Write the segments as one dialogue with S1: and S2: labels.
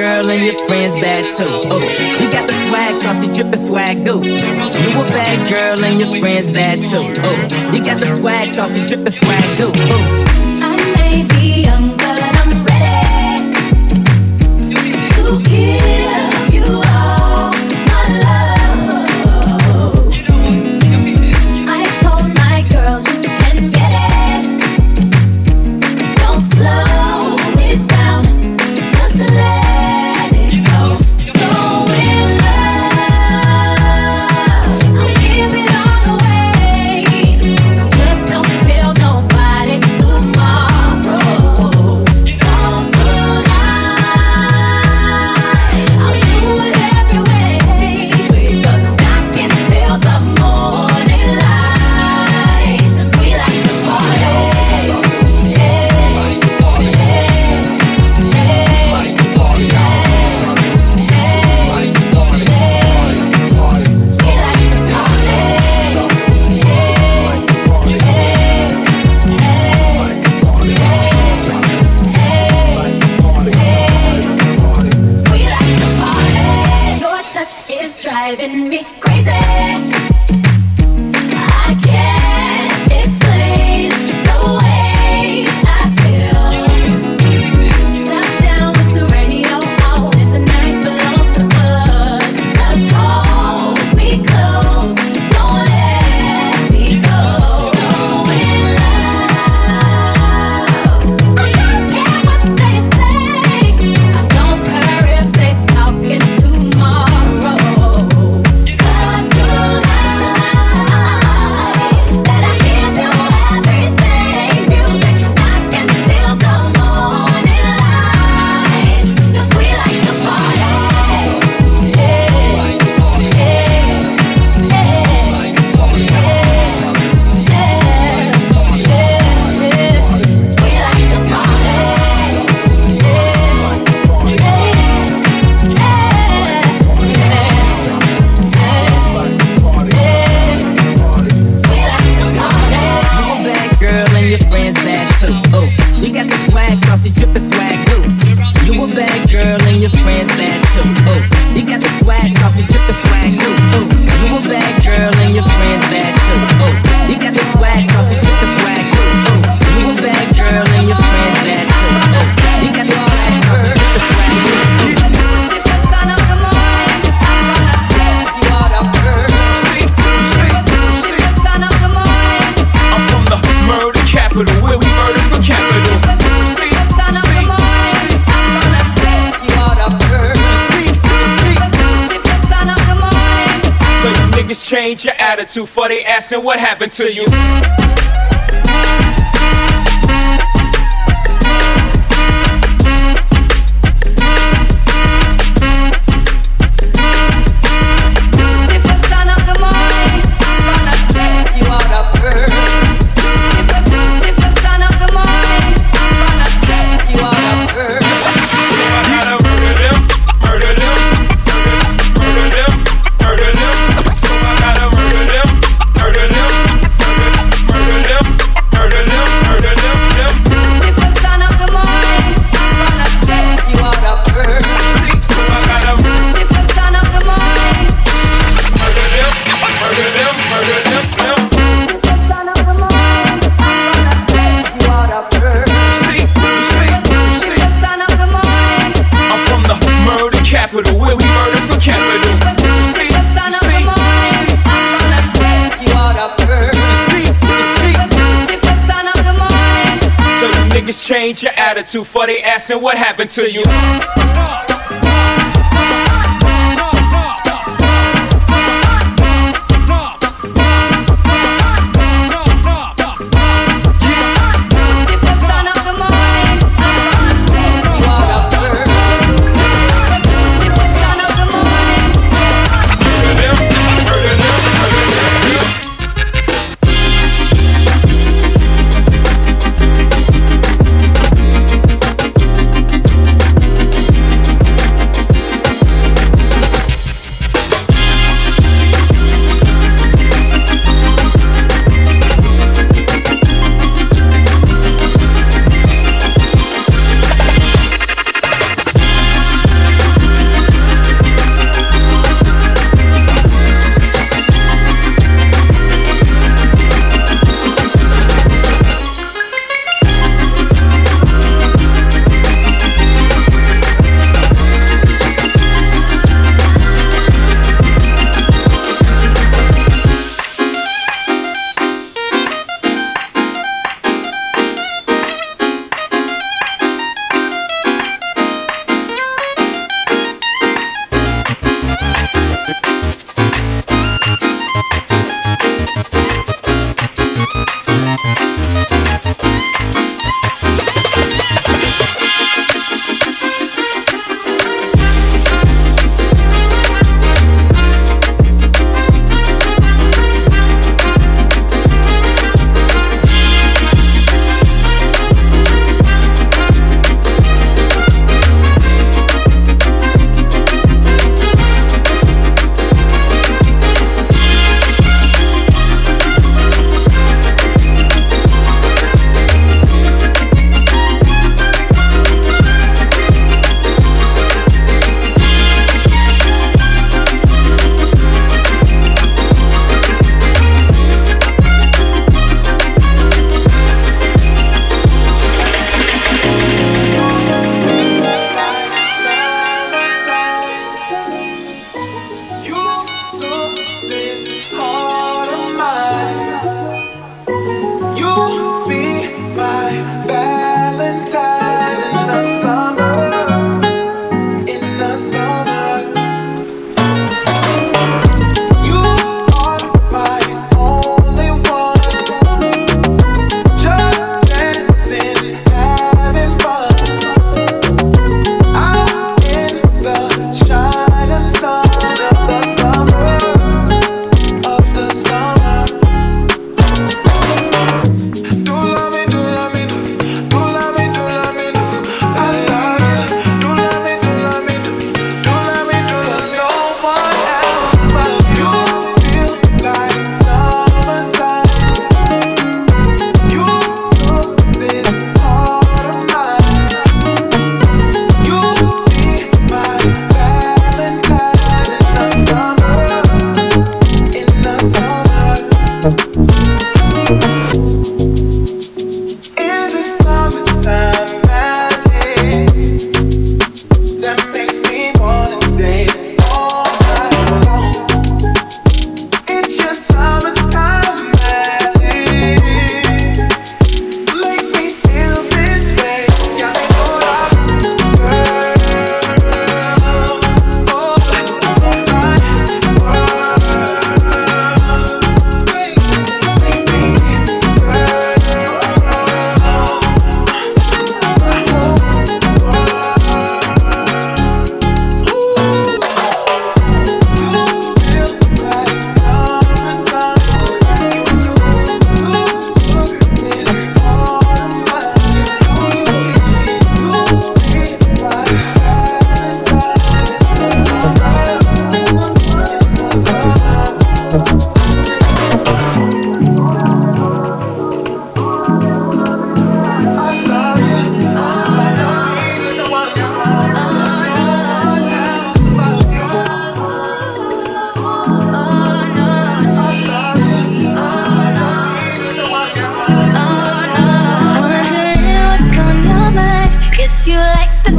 S1: girl and your friends bad too. Oh, you got the swag, saucy drippin' swag goo. You a bad girl and your friends bad too. Oh, you got the swag, saucy drippin' swag goo. Oh.
S2: I may be young, but I'm ready to give you all my love. I told my girls you can get it. Don't slow it down, just let it go. So in love, I'll give it all away. Just don't tell nobody tomorrow. So tonight, I'll do it every way, because I can tell the morning light. 'Cause we like to party. Your touch is driving me crazy. I can't explain the way I feel. Tap down with the radio on, and the night belongs to us. Just hold me close, don't let me go. So in love, I don't care what they say. I don't care if they talking tomorrow. 'Cause tonight, that I give you everything. Music, I can till the morning light. 'Cause we like to party. We like to party. We like to party.
S1: You a bad girl and your friends bad too. Oh, you got the swag, saucy drippin' swag goo. You a bad girl and your friends bad too. Oh, you got the swag, saucy drippin' swag goo. Oh, you a bad girl and your friends bad too. Oh, you got the swag, saucy drippin' swag goo. Oh, you a bad girl and your friends bad too. Oh, you got the swag, saucy drippin' swag goo.
S3: I'm from the murder capital, where we murder for capital. So you niggas change your attitude for they asking what happened to you. Change your attitude for they asking what happened to you.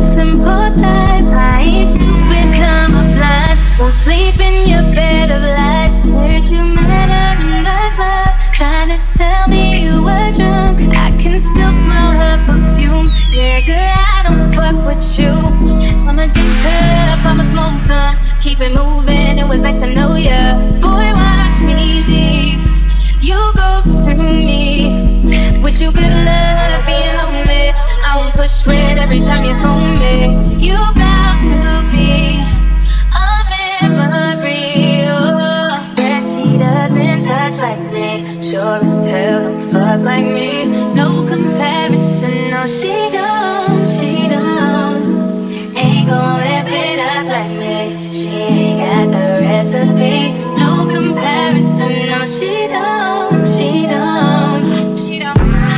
S2: simple type. I ain't stupid, I'm a blind. Won't sleep in your bed of lies. Heard you met her in the club, trying to tell me you were drunk. I can still smell her perfume. Yeah, girl, I don't fuck with you. I'ma drink up, I'ma smoke some. Keep it moving, it was nice to know ya. Boy, watch me leave. You ghost to me. Wish you good luck being lonely. I will push red every time you phone me. You bound to be a memory. Oh, that she doesn't touch like me. Sure as hell don't fuck like me. No comparison, no she don't, she don't. Ain't gon' live it up like me. She ain't got the recipe. No comparison, no she don't, she don't, she don't.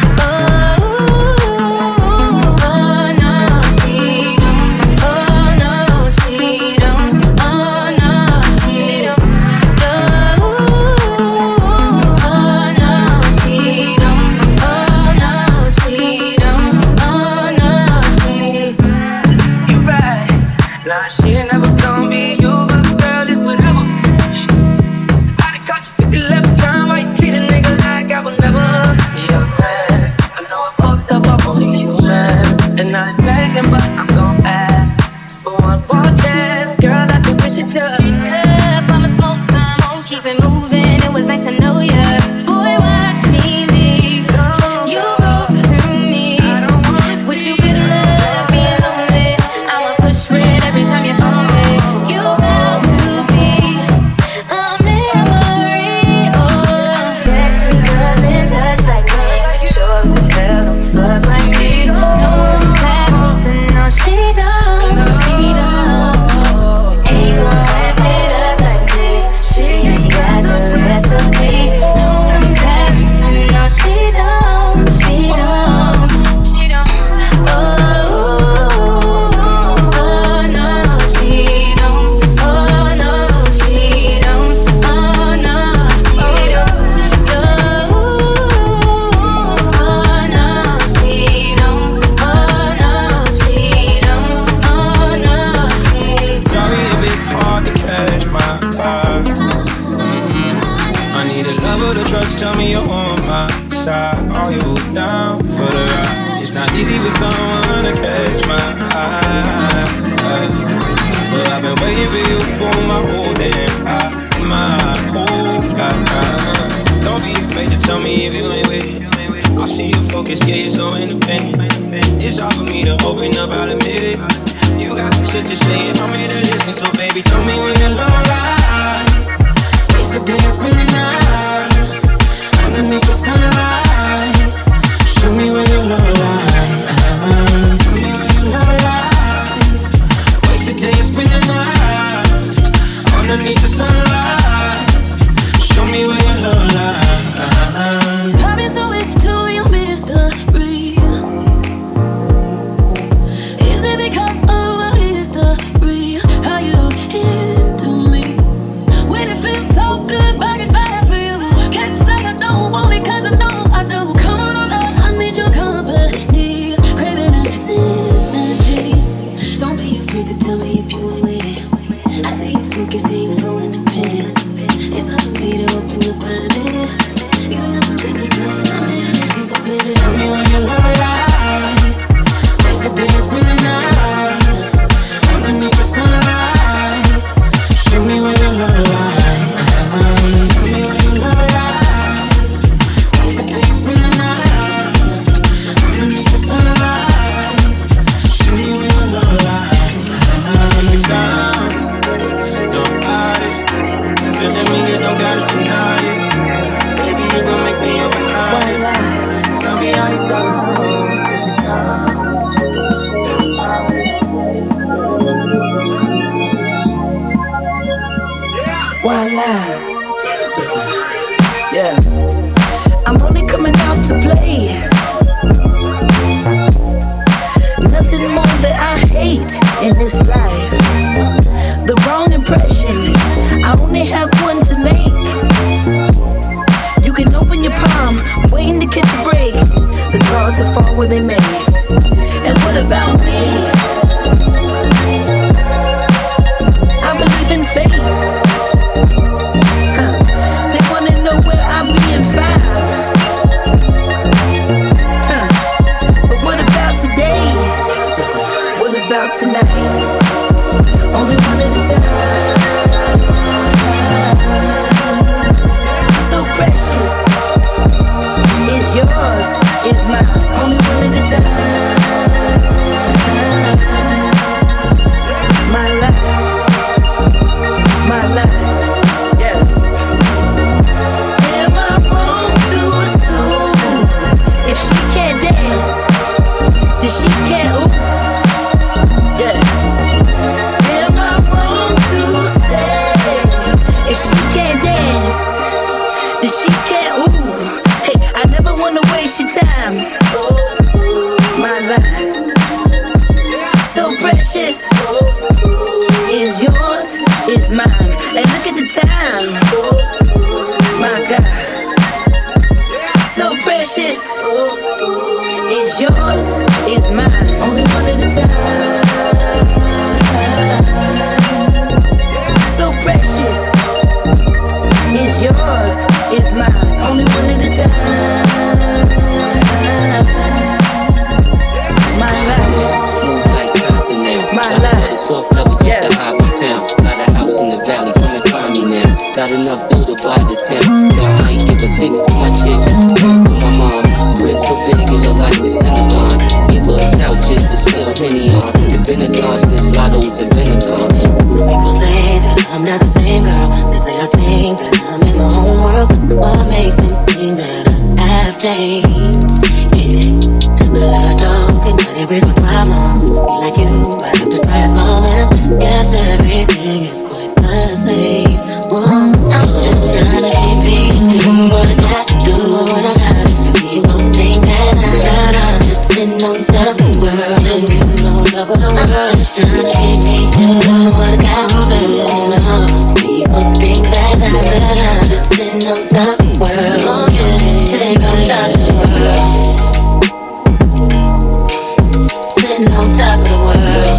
S1: But I'm gon' ask for one more chance. Girl, I can wish it to.
S2: Drink up, I'ma smoke some. Keep it moving, it was nice to know ya. Boy, watch me leave. You ghost to me. Wish you good luck being lonely. I'ma push red every time you phone me. You bound to be a memory. Oh, that she doesn't touch like me. Sure as hell don't fuck like me. No comparison, no she don't, she don't. Ain't gon' whip it up like me. She ain't got the recipe. No comparison, no she don't, she don't, she don't. Oh, no, she don't. Oh, no, she don't. Oh, no, she don't. Oh, no, she don't. Oh, no, she don't. Oh, no, she don't.
S3: Tell me if it's hard to catch my vibe. I need a lover to trust, tell me you're on my side. Are you down for the ride? It's not easy for someone to catch my eye. But I've been waiting for you for my whole damn life. My whole life. Don't be afraid to tell me if you ain't with it. I see you focus, yeah, you're so independent. It's hard for me to open up, I'll admit it. You got some shit to say and I'm here to listen. So baby, tell me when your love lies. Waste a day and spend the night underneath the sunrise. Show me where your love lies. Tell me where your love lies. Waste a day and spend the night underneath the sunrise. Show me where your love lies.
S2: I've been so into your mystery. Is it because of a history? How you handle me when it feels so good, but it's bad for you. Can't say I don't want it, cause I know I do. Come on, love, I need your company. Craving a synergy. Don't be afraid to tell me if you ain't with it. I see you focus, see you so independent. It's hard for me to open up a minute. You got some shit to say, and I'm here to listen. So baby, tell me when your love lies. Waste the day and spend the night underneath the sunrise. Show me where your love lies. Tell me where your love lies. Waste the day and spend the night underneath the sunrise. Show me where your love lies.
S3: You down, don't hide it. Feeling me, you don't gotta deny it. Baby, you gon' make me overnight. Tell me how you go.
S4: One line. Listen. Yeah. I'm only coming out to play. Nothing more that I hate in this life. The wrong impression. I only have one to make. You can open your palm, waiting to catch a break. The cards will fall where they may. And what about me? about tonight. Only one at a time. So precious. It's yours, it's mine. Only one at a time. My life, my life, yeah. Am I wrong to assume if she can't dance, then she can't ooh? Yeah. Am I wrong to say if she can't dance, then she can't ooh? Hey, I never wanna waste your time. My life, so precious. Is yours, is mine. And look at the time. My God, so precious. Is yours, is mine. Only one at a time. So precious. Is yours, is mine. Only one at a time. My life. My life.
S5: Soft cover just to hide my pounds. Got a house in the valley, come and find me now. Got enough dough to buy the town, so I might give a 6 to my chick, friends to my mom. Fridge so big it look like the Synagogue. Give her couches to spill Henny on. It's been a gone since Lotto's and Benetton.
S6: Some people say that I'm not the same girl. They say I think that I'm in my own world. What makes them think that I have changed? Yeah. But I don't get money, raise my problem. Be like you, I have to try something. Yes, everything is quite the same. Whoa. I'm just trying to keep being what I got to do. What I got to do. People think that I'm just sitting on top of the world. And you know top of the world. I'm just trying to keep being what I got to do. People think that I'm just sitting on top of the world. Oh yeah, sitting on top of the world. Sitting on top of the world.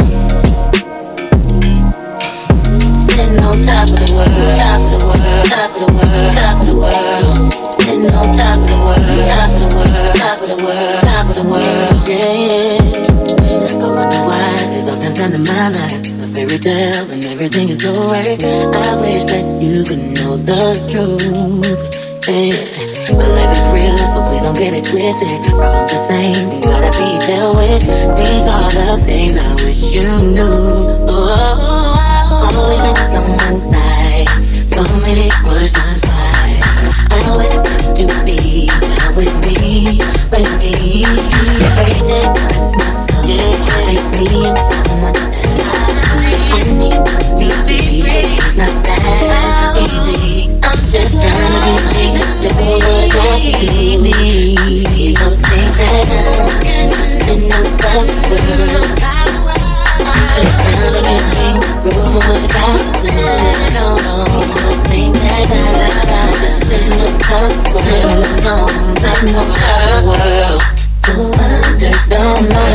S6: Sitting on top of the world. Top of the world. Top of the world. Top of the world. Sitting on top of the world. Top of the world. Top of the world. Top of the world. Yeah. I wonder why there's all kinds in my life. A fairy tale and everything is alright. I wish that you could know the truth. Yeah. But life is real, so please don't get it twisted. Problems the same, they gotta be dealt with. These are the things I wish you knew. Always in someone's side. So many questions why. I always have to be down with me, with me. Afraid to express myself, place me in someone else. I need to be free, it's not that easy. I'm just trying to be free, living what I can be. People think that I'm sitting outside the world. I'm just trying to be free, prove what I got to do. People think that I'm just sitting outside the world. No, sitting outside the world. To understand my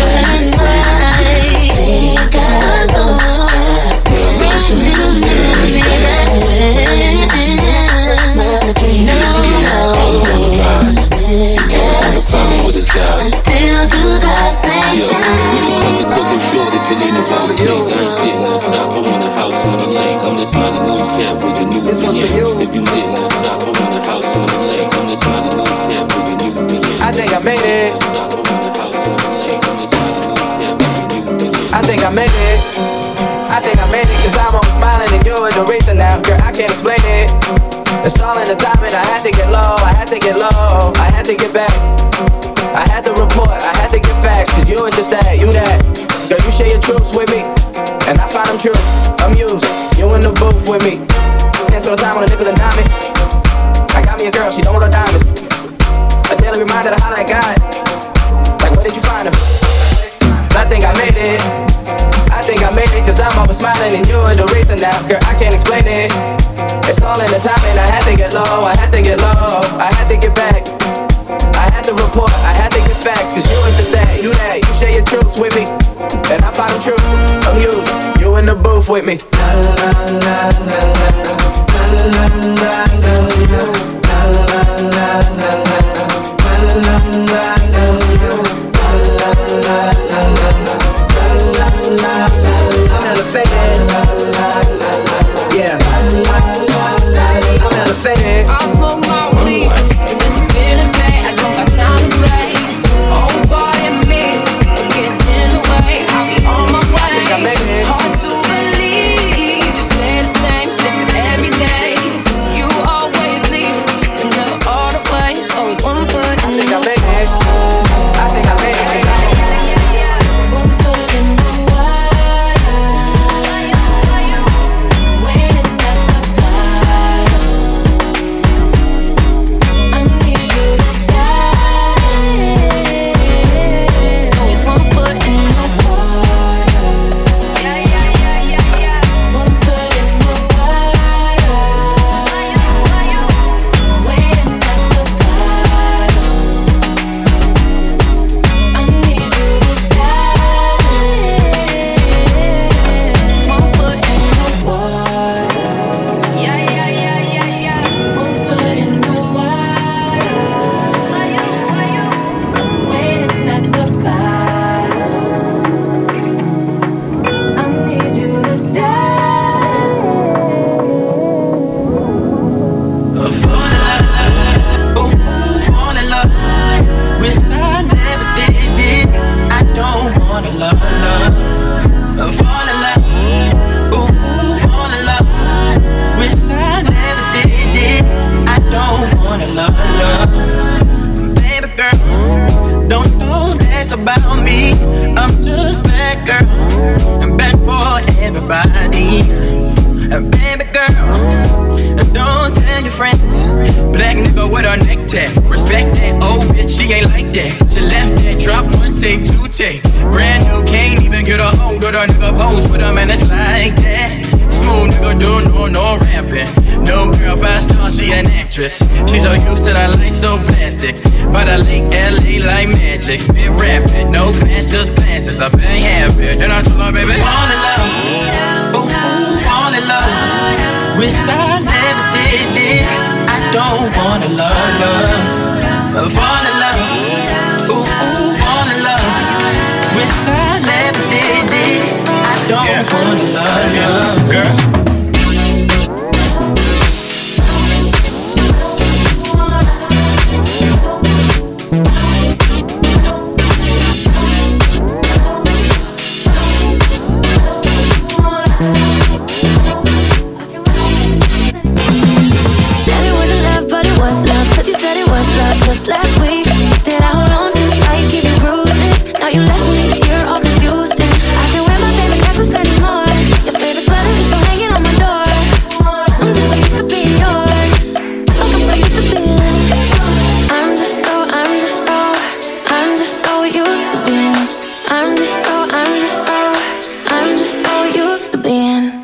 S6: think I know.
S5: With his guys.
S6: Still do the same.
S5: Yo, come and take a short if it ain't about the cake. I ain't sitting on top, I want a house on the lake. I'm this mighty news cap with the new beginning. If you sitting on top, I want a house on the lake. I'm this mighty news cap with the new beginning.
S7: I think I made it. I think I made it. I think I made it, cause I'm always smiling and you're the reason now. Girl, I can't explain it. It's all in the timing, I had to get low, I had to get low, I had to get back. I had to report, I had to get facts, cause you ain't just that, you that. Girl, you share your truths with me, and I find them true. Amused, you in the booth with me. Can't spend no time on a nickel and dime it. I got me a girl, she don't want no diamonds. A daily reminder to holler at God. Like, where did you find her? I think I made it. I think I made it, cause I'm always smiling and you're the reason now. Girl, I can't explain it. It's all in the timing, I had to get low, I had to get low, I had to get back. I had to report, I had to get facts, cause you ain't just that, you that. You share your truths with me, and I find them true. Amused, you in the booth with me. La la la la la la la la la la la.
S3: your body. And baby girl, don't tell your friends. Black nigga with a neck tag. Respect that old bitch, she ain't like that. She left that, drop one take, two take. Brand new, can't even get a hold of the nigga pose with a man that's like that. Smooth nigga do no rapping. No girl, 5 stars, she an actress. She so used to the light, so plastic. But I like LA like magic. Spit rapid, no class, just glances. I been happy. Then I told her, baby, fall in love. Ooh, fall in love. Wish I never did this. I don't wanna love. Fall in love. Ooh, fall in love. Wish I never did this. I don't wanna love, girl.
S2: Just last week, did I hold on to fight, give you bruises? Now you left me, you're all confused, and I can't wear my favorite necklace anymore. Your favorite sweater is still hanging on my door. I'm just so used to being yours, like I'm so used to being. I'm just so used to being. I'm just so used to being.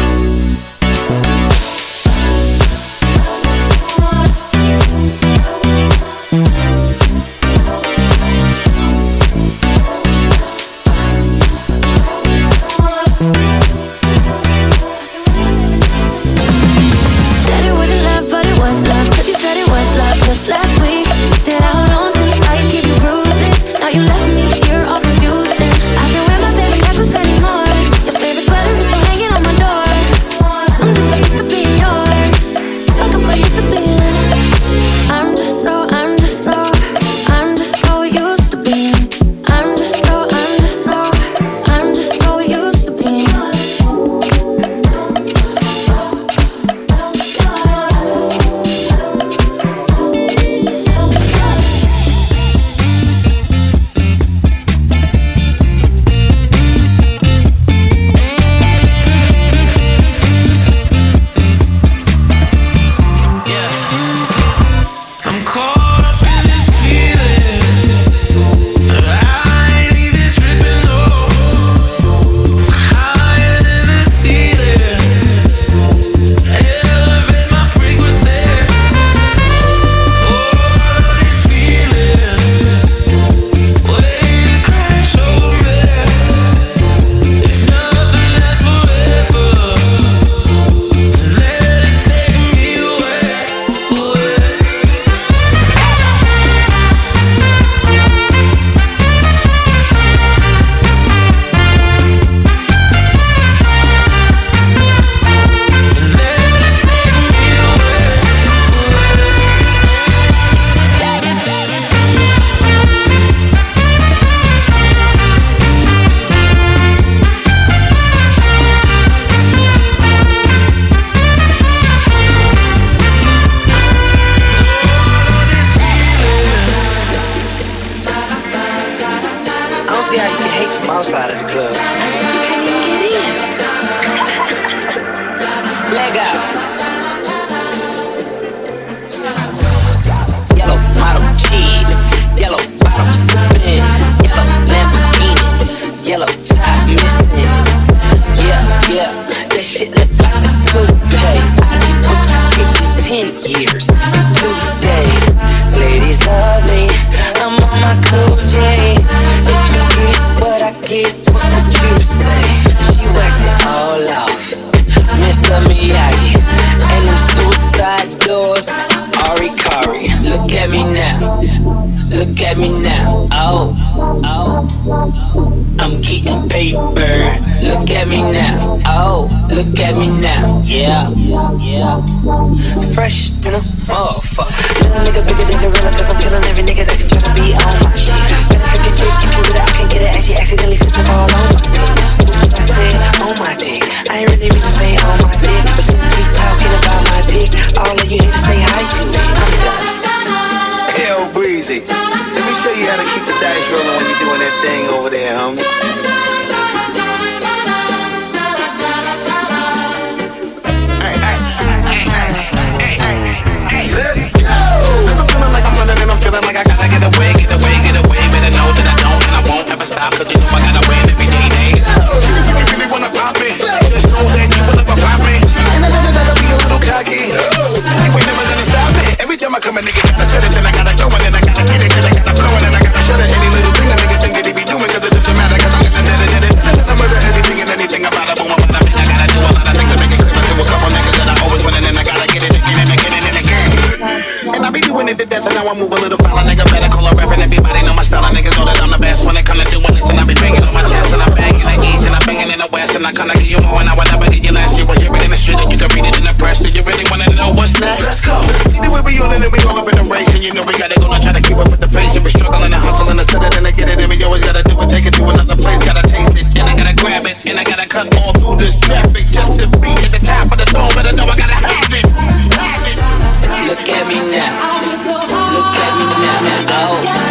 S5: I'm getting paper. Look at me now. Oh, look at me now. Yeah, yeah. Fresh in a motherfucker. Little nigga bigger than gorilla, cause I'm killing every nigga that can try to be on my shit. Better cut your dick and prove it, I can get it. And she accidentally slipped all on my dick. Oops, I said on my dick. I ain't really mean to say on my dick, but since we talking about my dick, all of you here to say hi to it. I'm done.
S8: Hell breezy. Let me show you how to keep the dice rolling when you're doing that thing over there, homie.
S9: I come, I give you more, and I will never get you last. You will hear it in the street, and you can read it in the press. Do you really wanna know what's next? Let's go. See the way we on it, and we all up in the race, and you know we gotta go and try to keep up with the pace. And we struggling and hustling to set it and to get it, and we always gotta do it, take it to another place. Gotta taste it, and I gotta grab it, and I gotta cut all through this traffic just to be at the top of the throne. But I know I gotta have it.
S5: Look at me now. Look at me now. Oh.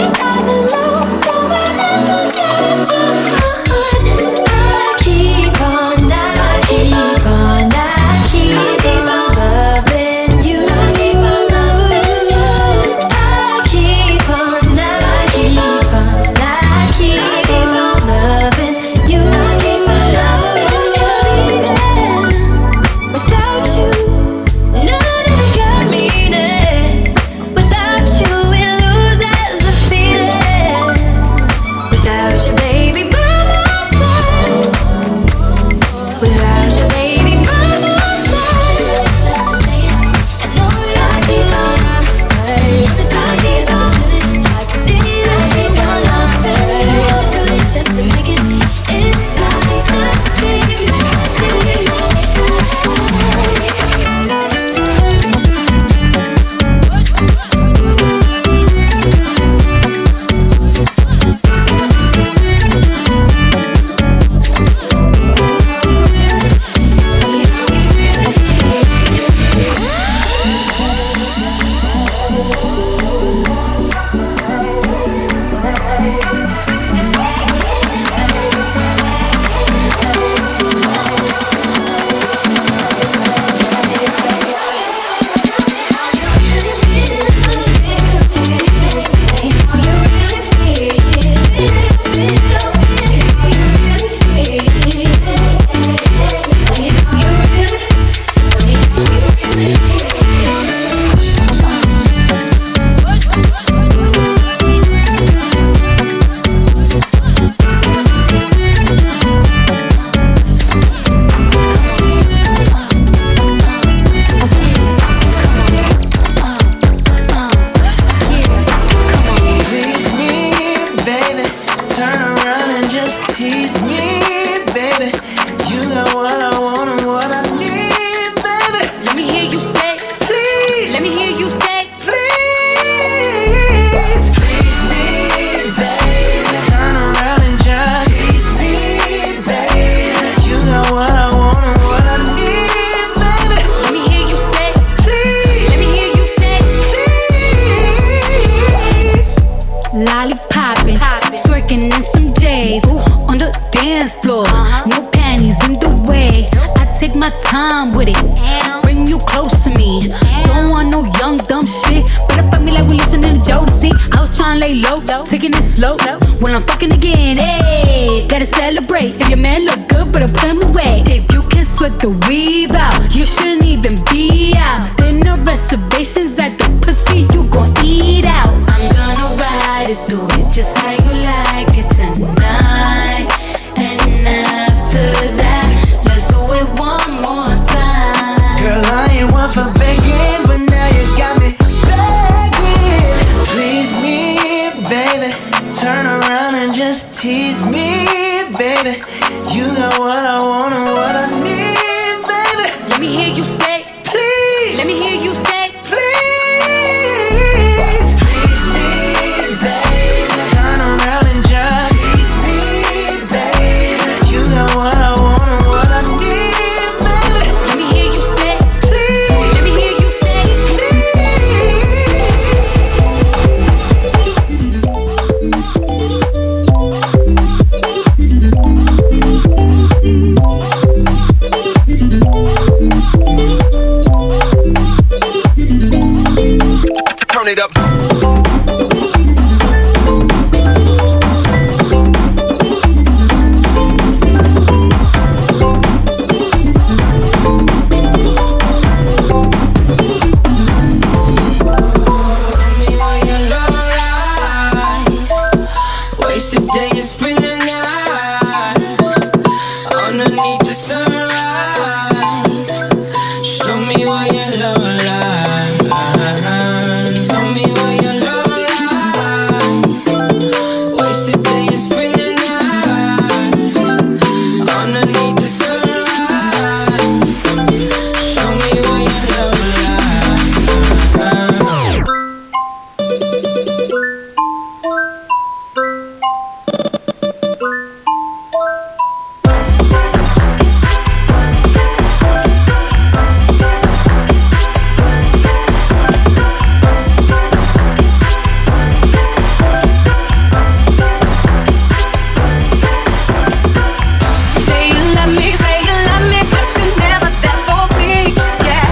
S2: Keep on slow. When I'm fucking again, hey, gotta celebrate. If your man look good, but I'll put him away. If you can sweat the weave out, you shouldn't even be out. There no reservations at the pussy, you gon' eat out. I'm gonna ride it, do it just how you like it tonight. And after that, let's do it one more time.
S10: Girl, I ain't one for begging, but now you got me begging. Please me, baby. Turn around and just tease me, baby. You got what I want and what I need, baby.
S2: Let me hear you say,
S10: please.
S2: Let me hear you say,
S10: please. Please me, baby. Turn around and just tease me, baby. You got what I want and what I need, baby.
S2: Let me hear you say,
S10: please.
S2: Let me hear you say,
S8: Turn it up.
S3: Wasted day and spring the night underneath the sunrise. Show me what your love lies. Tell me what your love lies. Wasted day and spring the night underneath the sunrise. Show me what your love lies.
S11: Say you love me, but you're never there for me, yeah.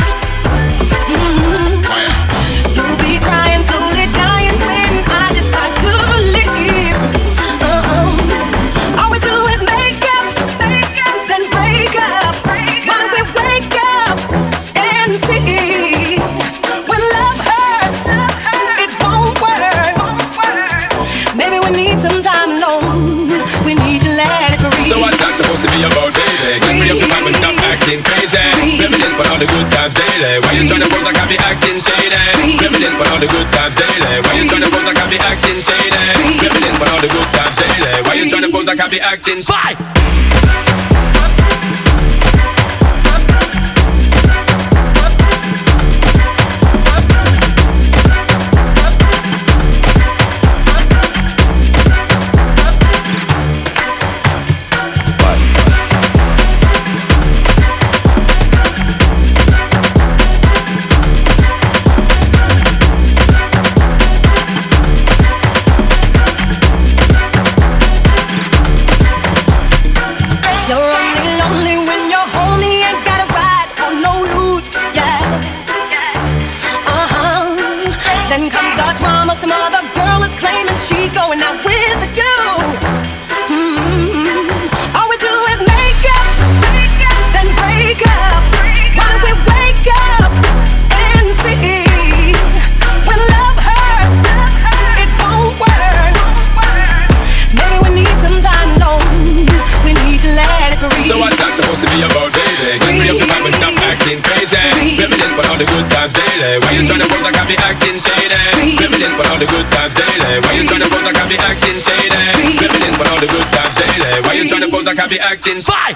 S11: You'll be crying, slowly dying when I decide to leave. All we do is make up, then break up. Why don't we wake up and see? When love hurts, it won't work. Maybe we need some time alone. We need to let it breathe.
S12: So what's that supposed to be about, baby? Get me up the vibe and stop acting crazy. Reminisce for all the good times daily. Why you tryna pose like I be acting shady? Reminisce for all the good times daily. Why you tryna pose like I be acting shady? Reminisce for all the good times daily. Why you tryna pose like I be acting spy?
S11: You're only lonely when you're homey and got a ride or no loot, yeah. Then comes the drama, some other girl is claiming she's going out with you. All we do is make up, then break up. Why don't we wake up and see? When love hurts, it won't work. Maybe we need some time alone. We need to let it breathe.
S12: So what's that supposed to be about, baby? Get me up the vibe and stop acting crazy. Reminisce for all the good times daily. Why you tryna pose like I be acting shady? Reminisce for all the good times daily. Why you tryna pose like I be acting shady? Reminisce for all the good times daily. Why you tryna pose like I be acting spy?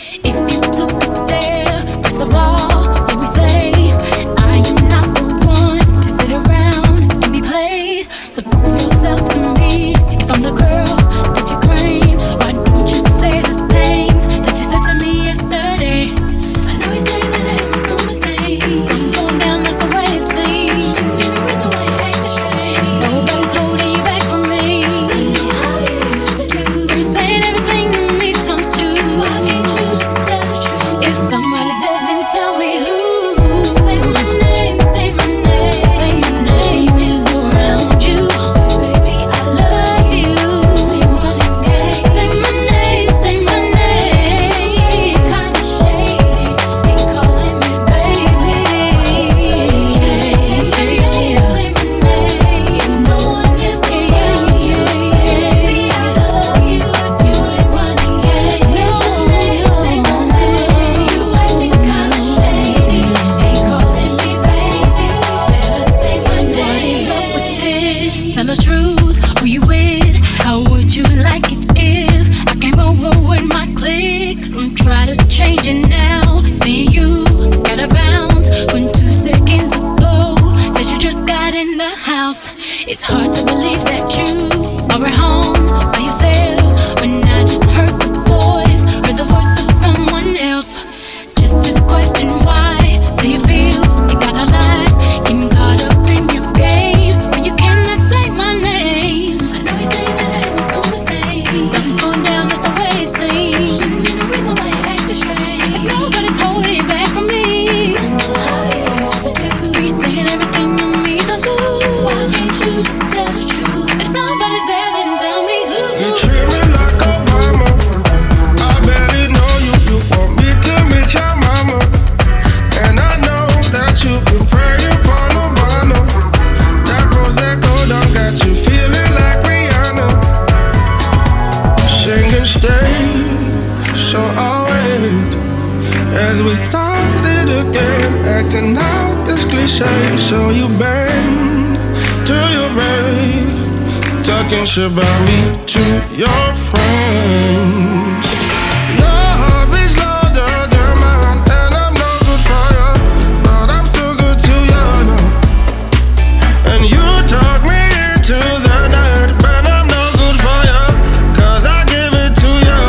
S2: If you took it there, first of all, let me say I am not the one to sit around and be played. So prove yourself to me. If I'm the girl that you claim, why don't you say the things that you said to me yesterday? I know you say that I'm assuming things. Something's going down, that's the way it seems. That's the way it ain't the strange. Nobody's holding you back from me. I know how you usually do. You're saying everything to me times two. Why can't you just tell the truth? If somebody's there, then tell me who. Say my name, say my name. Say my name is around you. Baby, I love you. Say my name, say my name. Kinda shady, ain't calling me baby. Say my name, no one is around you. Baby, I love you. You ain't running game. Say my name, you acting kinda shady, ain't calling me baby. Better say my name. What is up with this? Tell the truth, who you with? How would you like it if I came over with my clique? Don't try to change it now. Saying you gotta bounce when 2 seconds ago said you just got in the house. It's hard to believe that you are at home by yourself when I just heard the voice, heard the voice of someone else. Just this question, why do you feel you gotta lie? Getting caught up in your game when you cannot say my name. I know you say that I'm assuming things. Something's going down, that's the way it seems. Shouldn't be the reason why you act this strange. If nobody's holding it back from me, I know how you usually do. You're saying everything to me times two. Why can't you just tell the truth? If somebody's there, then tell me who.
S13: You treat me like a mama. I barely know you. You want me to meet your mama. And I know that you've been praying for Nirvana. That Prosecco done got you feeling like Rihanna. Sing and stay, so I'll wait as we started again, acting out this cliche. So you bend to your break, talking shit about me to your friends. Your hobby's louder than mine, and I'm no good for you, but I'm still good to you, no. And you talk me into the night, but I'm no good for you, 'cause I give it to you.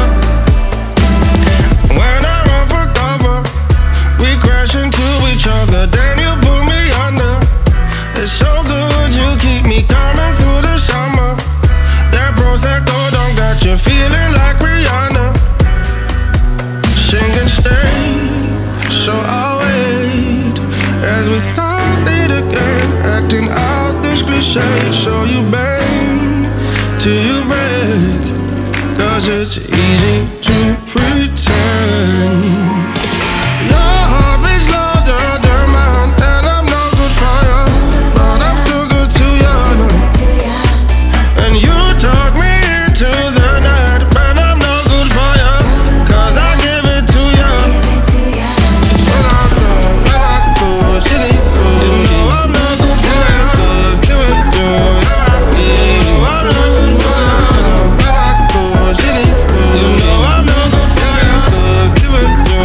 S13: When I run for cover, we crash into each other, then you pull me under. It's so good, you keep me coming through the summer. That Prosecco don't got you feeling like Rihanna. Sing and stay, so I'll wait as we started again, acting out this cliche. So you bend till you break, 'cause it's easy to pretend. Your hobby's louder than mine, and I'm no good for you, but I'm still good to you, no. And you talk me into the night, but I'm no good for you, 'cause I give it to you. When I go, where I go, shit ain't good. You know I'm no good for you, 'cause give it to you. You know I'm no good for you. Where I go, shit ain't good. You know I'm no good for you, 'cause give it to you.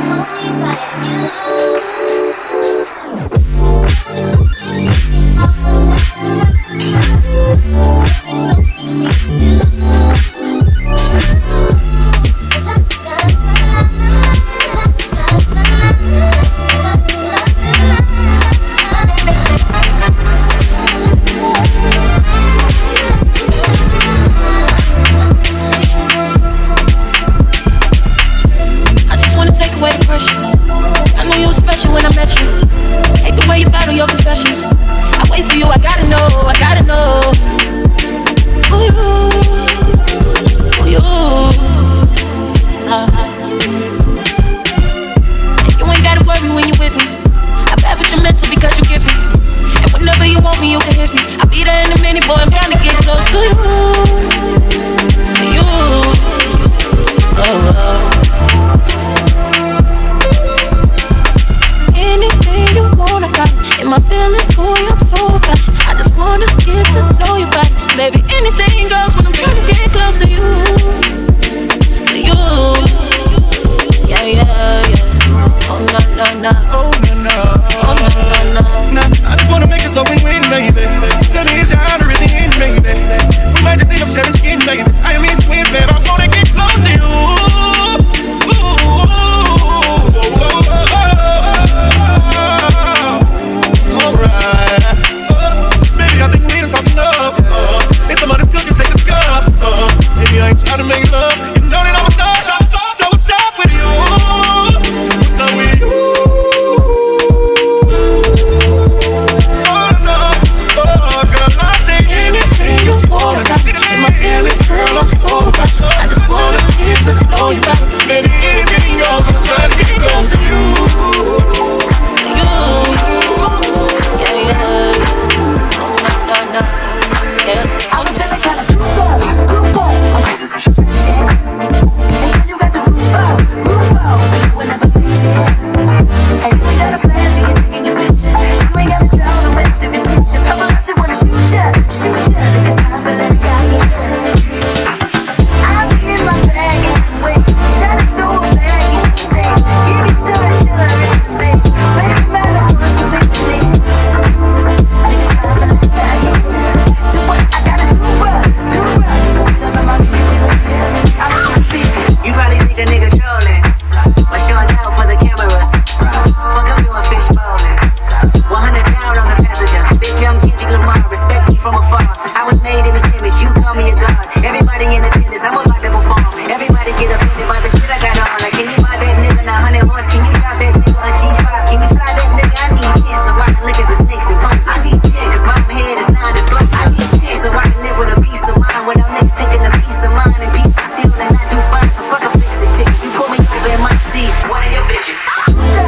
S14: One of your bitches.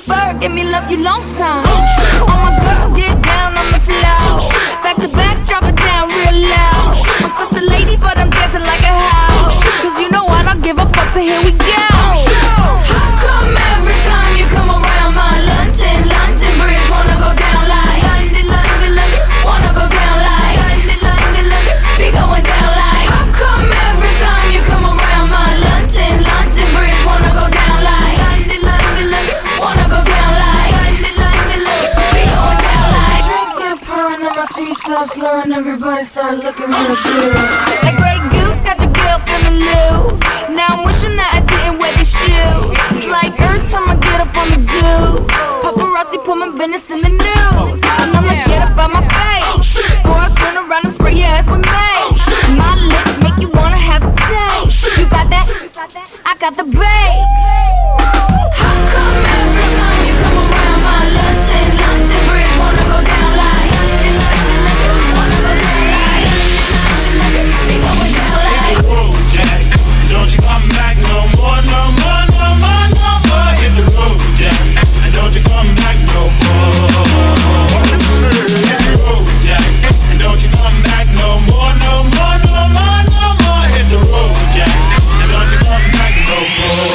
S14: prefer, give me love you long time. All my girls get down on the floor. Back to back, drop it down real loud. I'm such a lady, but I'm dancing like a house. Cause you know I don't give a fuck, so here we go.
S2: How come every time you come around my London Bridge wanna go down like London, wanna go down like London, be going down like. How come every time you come around my London Bridge wanna go down like London, wanna go down like London, be going down like. Drinks start pouring and my feet start slurring, everybody start looking real good.
S14: Like Grey Goose, got your girl feeling loose. Now I'm wishing that I didn't wear these shoes. It's like every time I get up on the do, paparazzi put my business in the news. And I'm like, get up out my face, or I'll turn around and spray your ass with mace. My lips make you wanna have a taste. You got that? I got the bass.
S2: How come every time you come around my London Bridge wanna go down like wanna go down like be going down like.
S15: Jack, don't you come back no more, no more, no more, no more. Hit the road, Jack, and don't you come back no more. Hit the road, Jack, and don't you come back no more, no more, no more, no more. Hit the road, Jack, and don't you come back no more.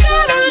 S11: gotta